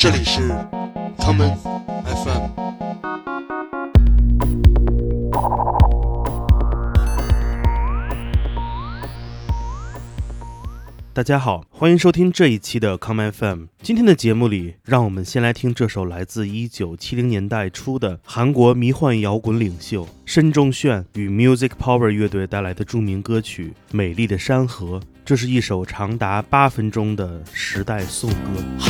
这里是 Common FM。 大家好，欢迎收听这一期的 Come FM。今天的节目里，让我们先来听这首来自1970年代初的韩国迷幻摇滚领袖申仲炫与 Music Power 乐队带来的著名歌曲《美丽的山河》。这是一首长达8分钟的时代颂歌。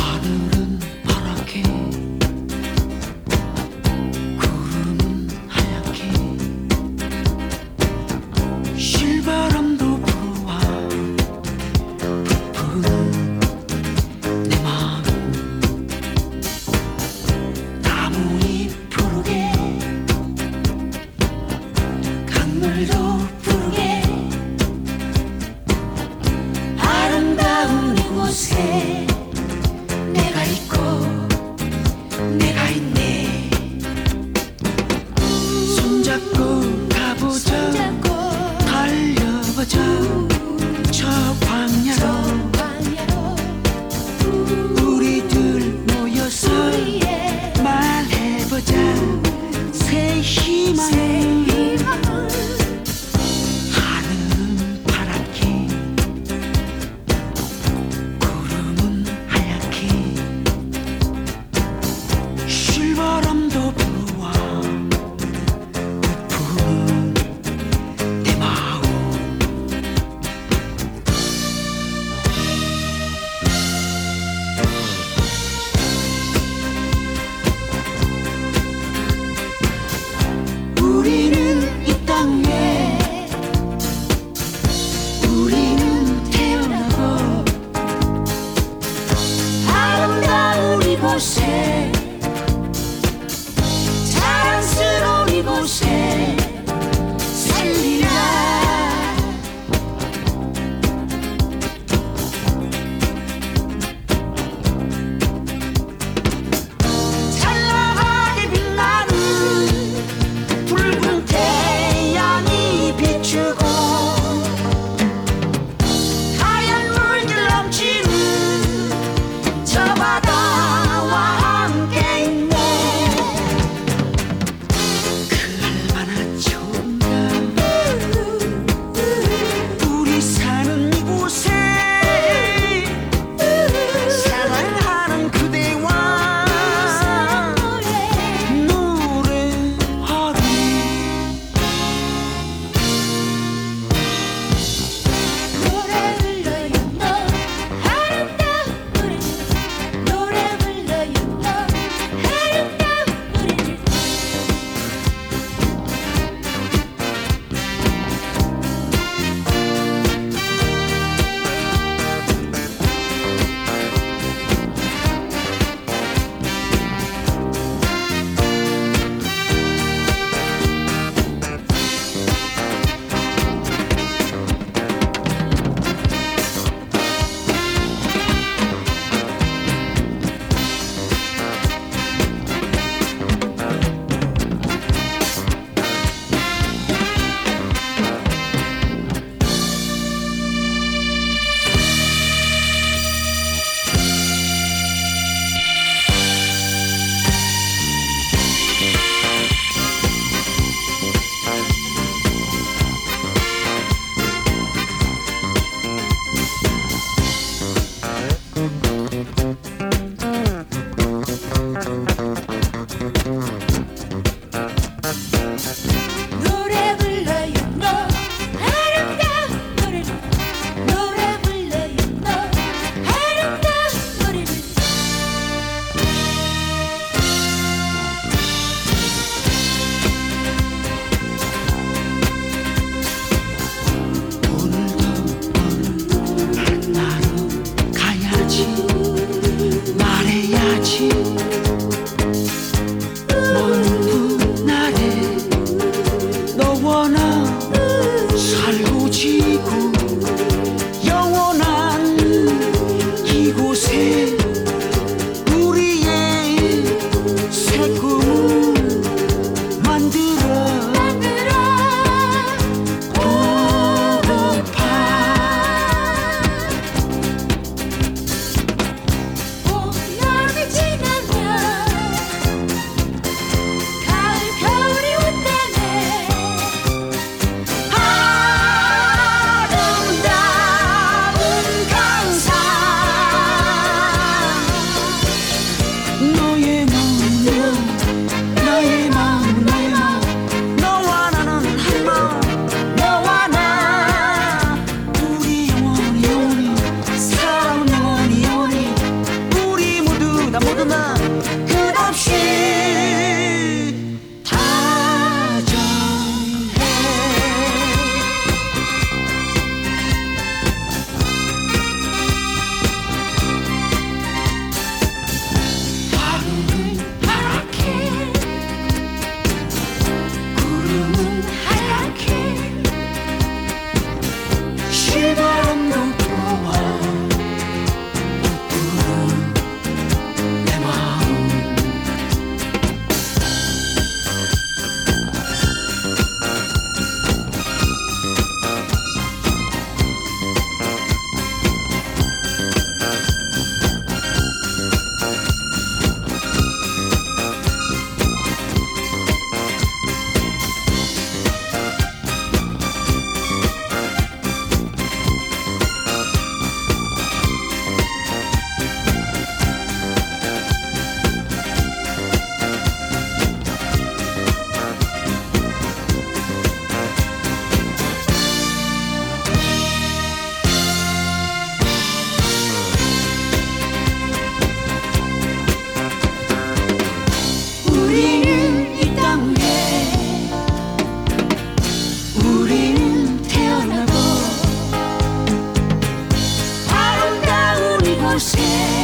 이곳에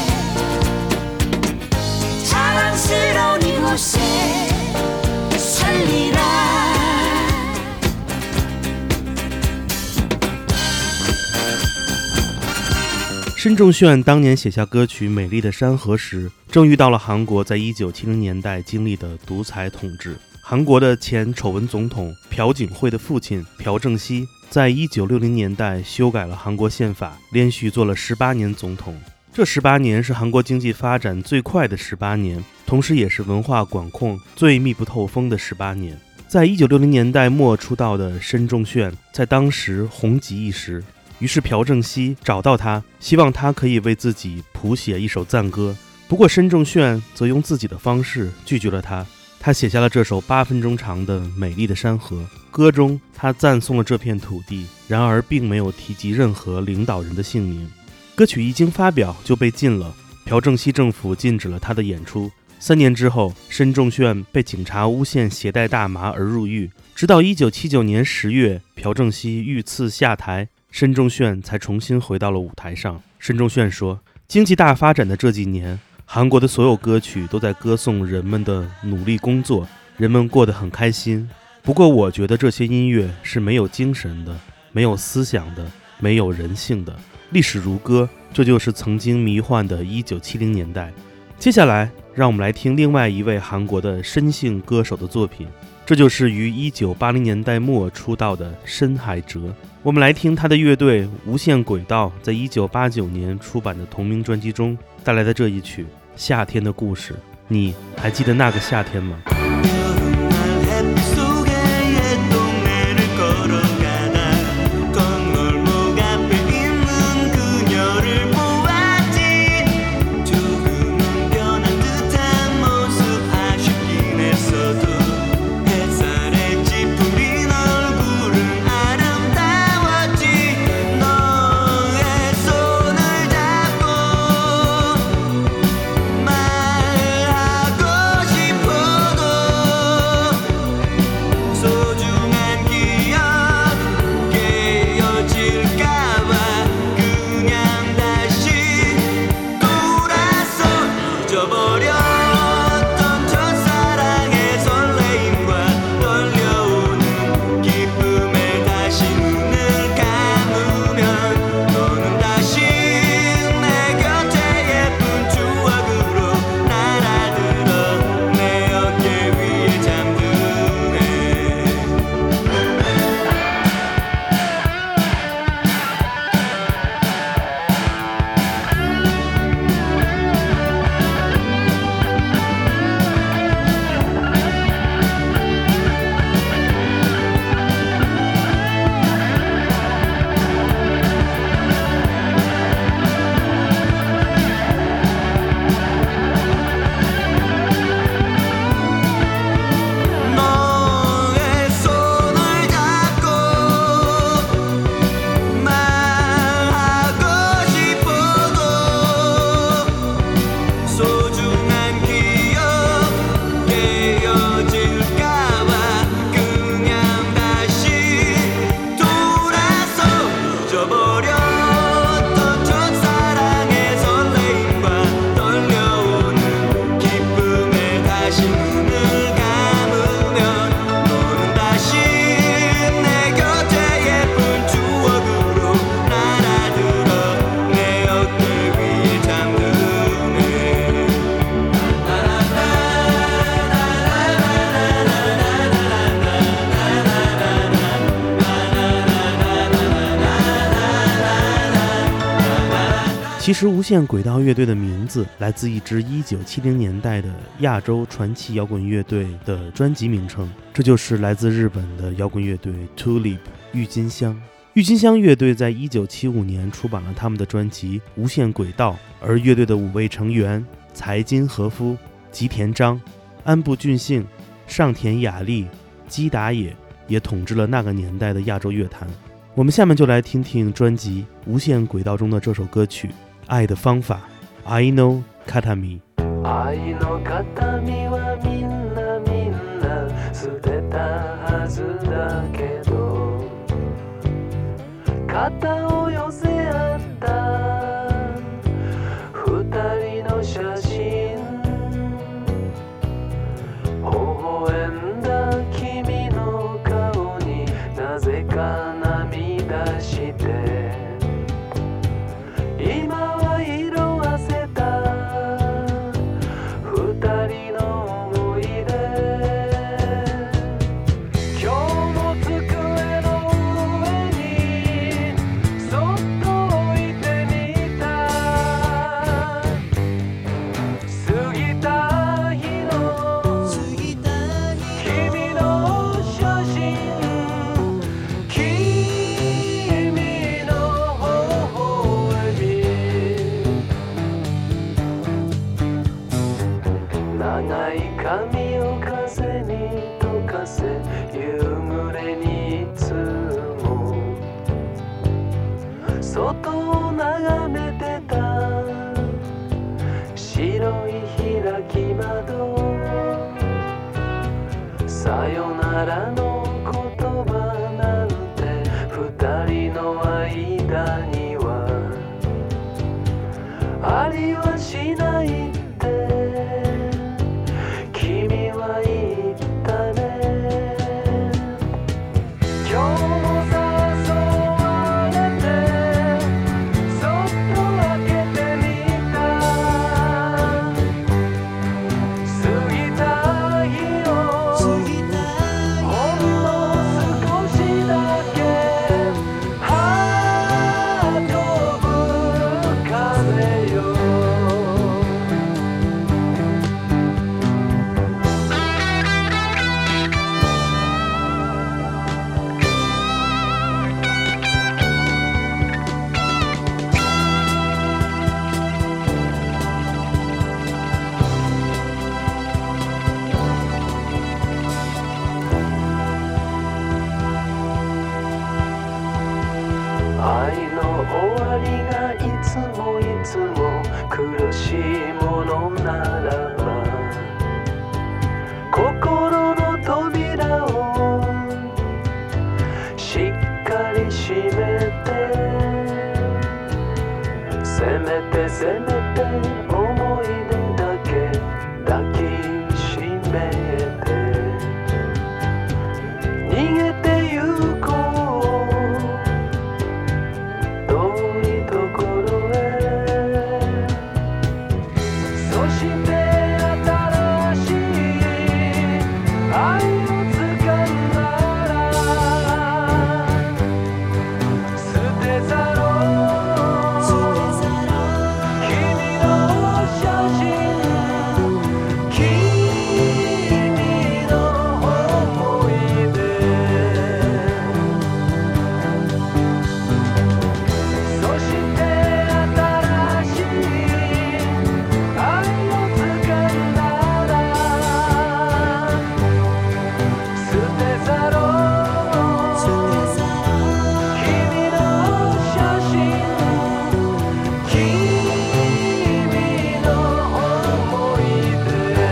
자랑스러운 이곳에 살리라 申仲炫当年写下歌曲《美丽的山河》时，正遇到了韩国在1970年代经历的独裁统治。韩国的前丑闻总统朴槿惠的父亲朴正熙，在1960年代修改了韩国宪法，连续做了18年总统。这18年是韩国经济发展最快的18年，同时也是文化管控最密不透风的18年。在1960年代末出道的申仲炫，在当时红极一时。于是朴正熙找到他，希望他可以为自己谱写一首赞歌。不过申仲炫则用自己的方式拒绝了他。他写下了这首8分钟长的《美丽的山河》，歌中他赞颂了这片土地，然而并没有提及任何领导人的姓名。歌曲一经发表就被禁了，朴正熙政府禁止了他的演出。3年之后，申仲炫被警察诬陷携带大麻而入狱。直到1979年10月，朴正熙遇刺下台，申仲炫才重新回到了舞台上。申仲炫说，经济大发展的这几年，韩国的所有歌曲都在歌颂人们的努力工作，人们过得很开心。不过我觉得这些音乐是没有精神的，没有思想的，没有人性的。历史如歌，这就是曾经迷幻的1970年代。接下来让我们来听另外一位韩国的申姓歌手的作品，这就是于1980年代末出道的申海哲。我们来听他的乐队无限轨道在1989年出版的同名专辑中带来的这一曲《夏天的故事》。你还记得那个夏天吗？其实无限轨道乐队的名字来自一支1970年代的亚洲传奇摇滚乐队的专辑名称，这就是来自日本的摇滚乐队 Tulip 郁金香。郁金香乐队在1975年出版了他们的专辑《无限轨道》，而乐队的5位成员财津和夫、吉田章、安部俊幸、上田雅丽、基达也也统治了那个年代的亚洲乐坛。我们下面就来听听专辑《无限轨道》中的这首歌曲《愛的方法》愛の形見。 愛の形見はみんなみんな捨てたはずだけど肩を寄せ合ったしないって君は言ったね。今日も誘われてそっと開けてみた。過ぎた日をほんの少しだけは飛ぶ風よ。愛の終わりがいつもいつも苦しいものならば心の扉をしっかり閉めてせめて思い出だけ抱きしめて逃げてゆこう遠いところへ。そして新しい愛を掴んだら捨てざろう君の写真君の思い出。そして新しい愛を掴んだら捨てざろう君の写真君の思い出。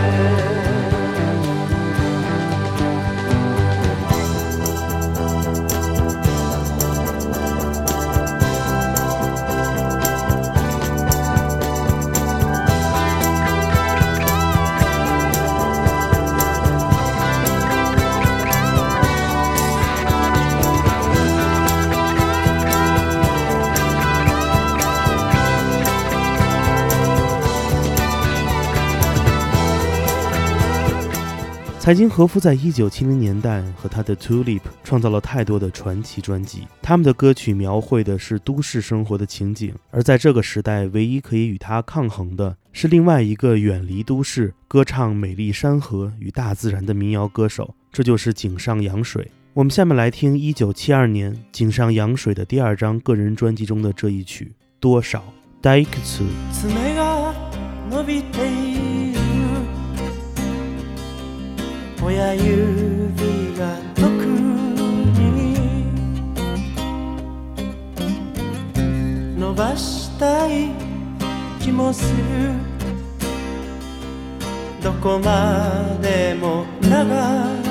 财金和夫在1970年代和他的 Tulip 创造了太多的传奇专辑，他们的歌曲描绘的是都市生活的情景，而在这个时代唯一可以与他抗衡的是另外一个远离都市歌唱美丽山河与大自然的民谣歌手，这就是井上洋水。我们下面来听1972年井上洋水的第2张个人专辑中的这一曲多少。大いくつ爪が伸びている親指が特に伸ばしたい気もするどこまでも長く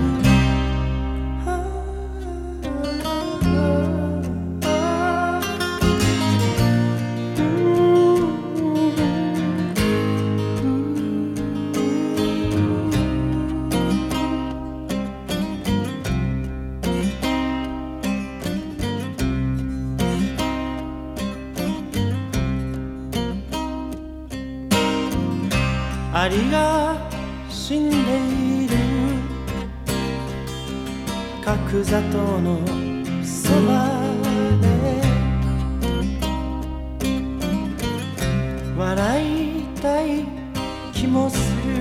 アリが死んでいる角砂糖のそばで笑いたい気もする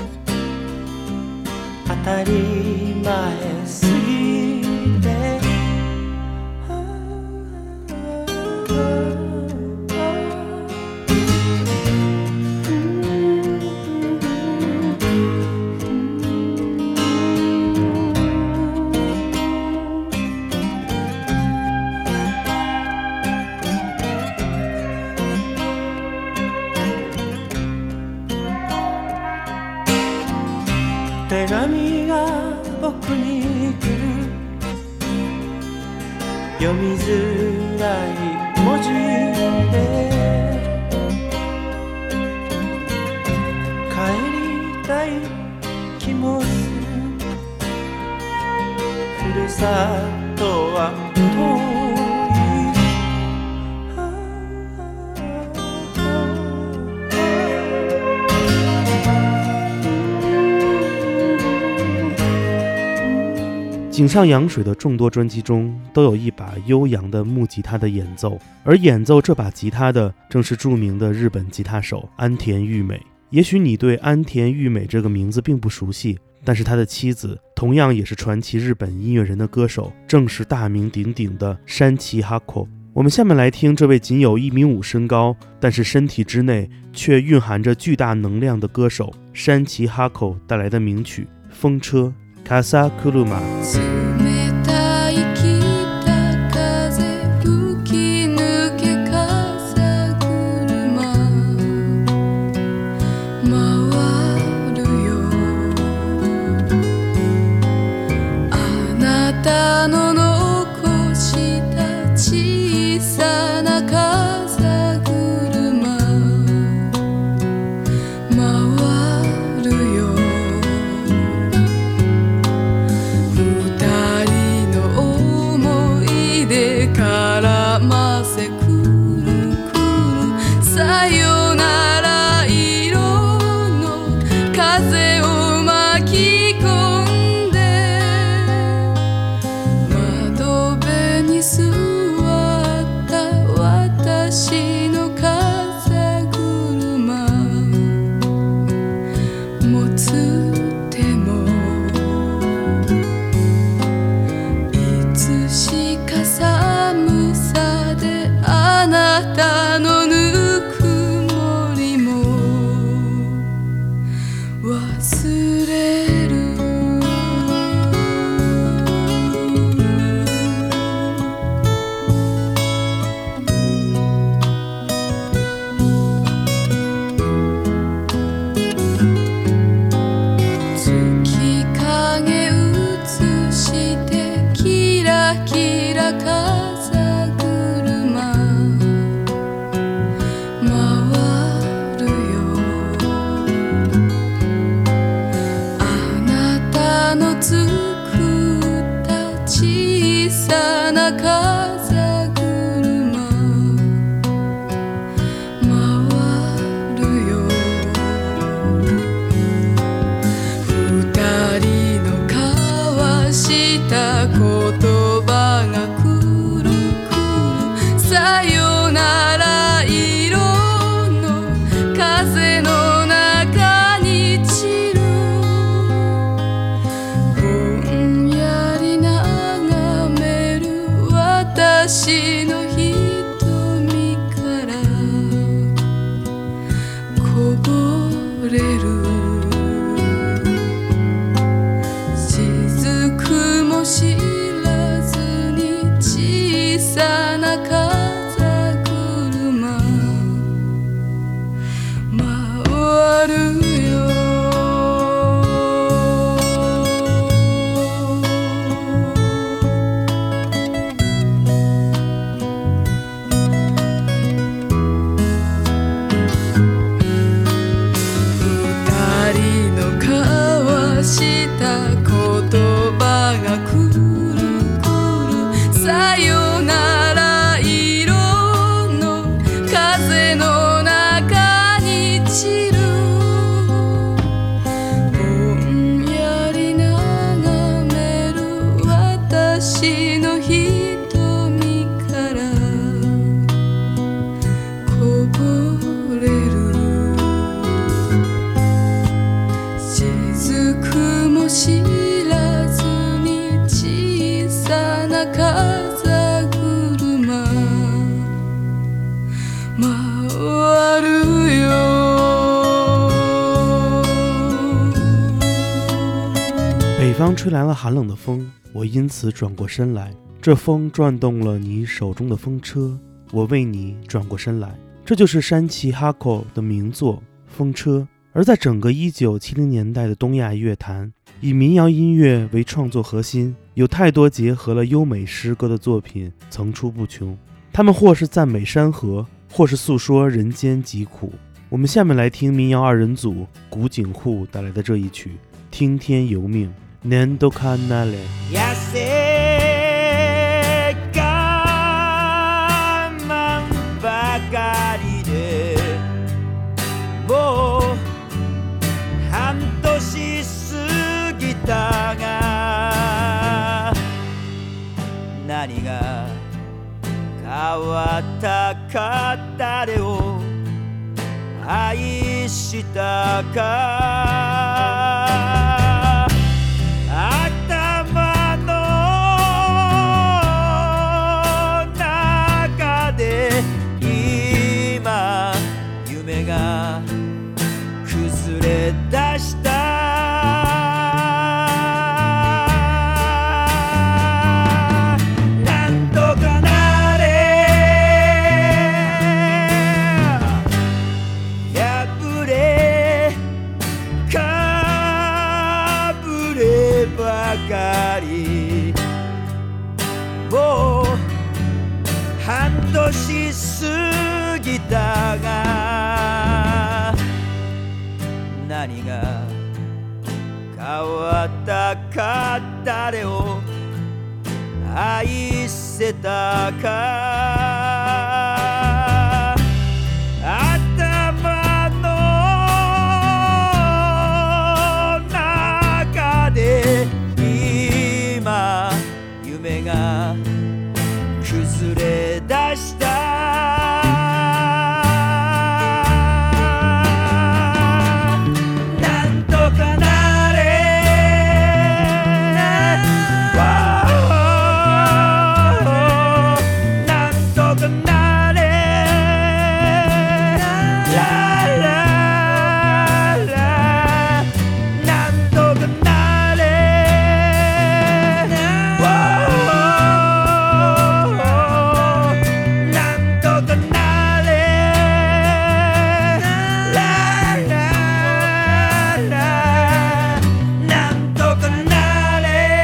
当たり前すぎて手紙が僕に来る読みづらい文字で井上洋水的众多专辑中都有一把悠扬的木吉他的演奏，而演奏这把吉他的正是著名的日本吉他手安田裕美。也许你对安田裕美这个名字并不熟悉，但是他的妻子同样也是传奇日本音乐人的歌手，正是大名鼎鼎的山崎哈口。我们下面来听这位仅有1.5米身高，但是身体之内却蕴含着巨大能量的歌手山崎哈口带来的名曲《风车》Casa Kuruma。北方吹来了寒冷的风，我因此转过身来，这风转动了你手中的风车，我为你转过身来。这就是山崎哈口的名作《风车》。而在整个1970年代的东亚乐坛，以民谣音乐为创作核心，有太多结合了优美诗歌的作品层出不穷，他们或是赞美山河，或是诉说人间疾苦。我们下面来听民谣二人组古井户带来的这一曲《听天由命》。年都看那嘞。 もう半年過ぎたが変わったか誰を愛したか頭の中で今夢が崩れ出したなんとかなれ破れかぶればかりもう半年過ぎたが何が変わったか誰を愛せたか頭の中で今夢が崩れ出したなんとかなれなんとかなれラララなんとかなれなんとかなれラララなんとかなれ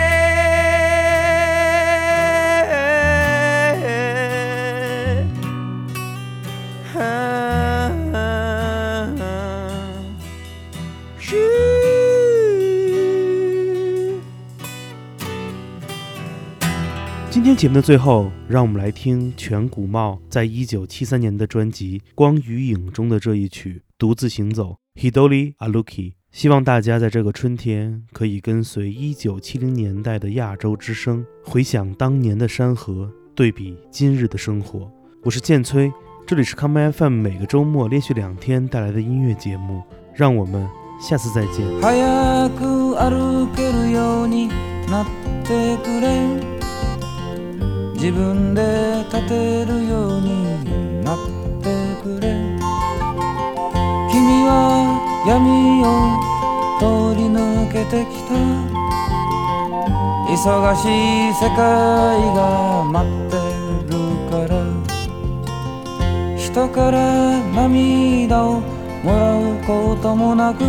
今天节目的最后，让我们来听全谷茂在1973年的专辑《光与影》中的这一曲《独自行走》Hidori Aluki。希望大家在这个春天可以跟随1970年代的亚洲之声，回想当年的山河，对比今日的生活。我是建崔，这里是 Come FM 每个周末连续2天带来的音乐节目，让我们下次再见。 早く歩けるようになってくれ自分で立てるようになってくれ君は闇を通り抜けてきた忙しい世界が待ってるから人から涙をもらうこともなく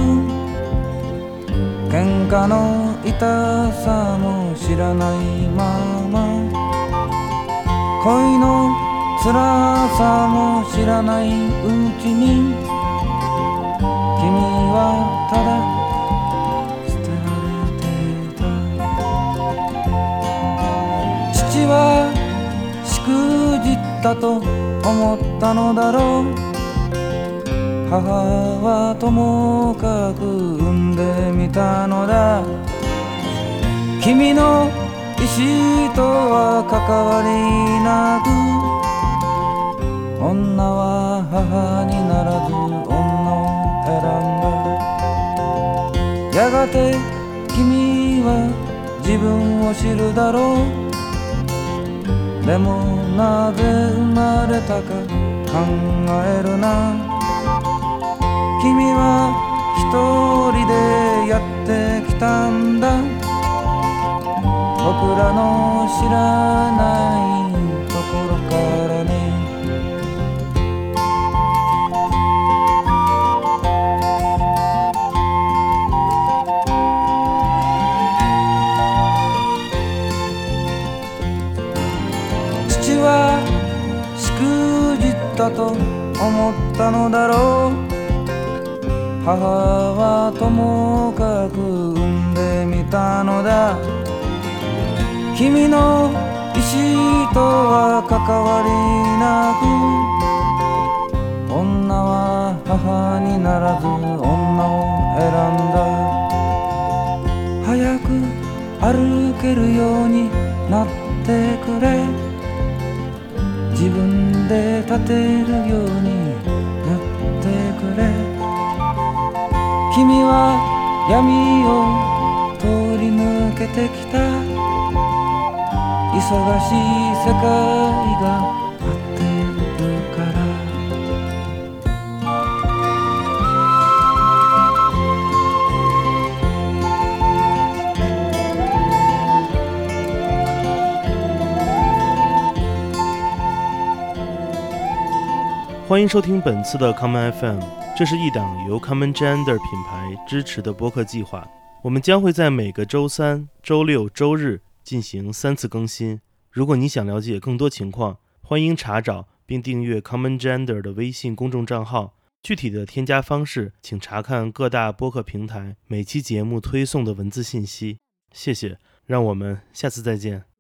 喧嘩の痛さも知らないまま恋の辛さも知らないうちに君はただ捨てられていた父はしくじったと思ったのだろう母はともかく産んでみたのだ君の意志とは関わりなく女は母にならず女を選んだやがて君は自分を知るだろうでもなぜ生まれたか考えるな君は一人でやってきたんだ僕らの知らないところからね父はしくじったと思ったのだろう母はともかく産んでみたのだ君の意志とは関わりなく女は母にならず女を選んだ早く歩けるようになってくれ自分立てるようになってくれ君は闇を通り抜けてきた忙しい世界が待ってるから欢迎收听本次的 Common FM， 这是一档由 Common Gender 品牌支持的播客计划。我们将会在每个周三、周六、周日进行3次更新。如果你想了解更多情况，欢迎查找并订阅 Common Gender 的微信公众账号。具体的添加方式，请查看各大播客平台每期节目推送的文字信息。谢谢，让我们下次再见。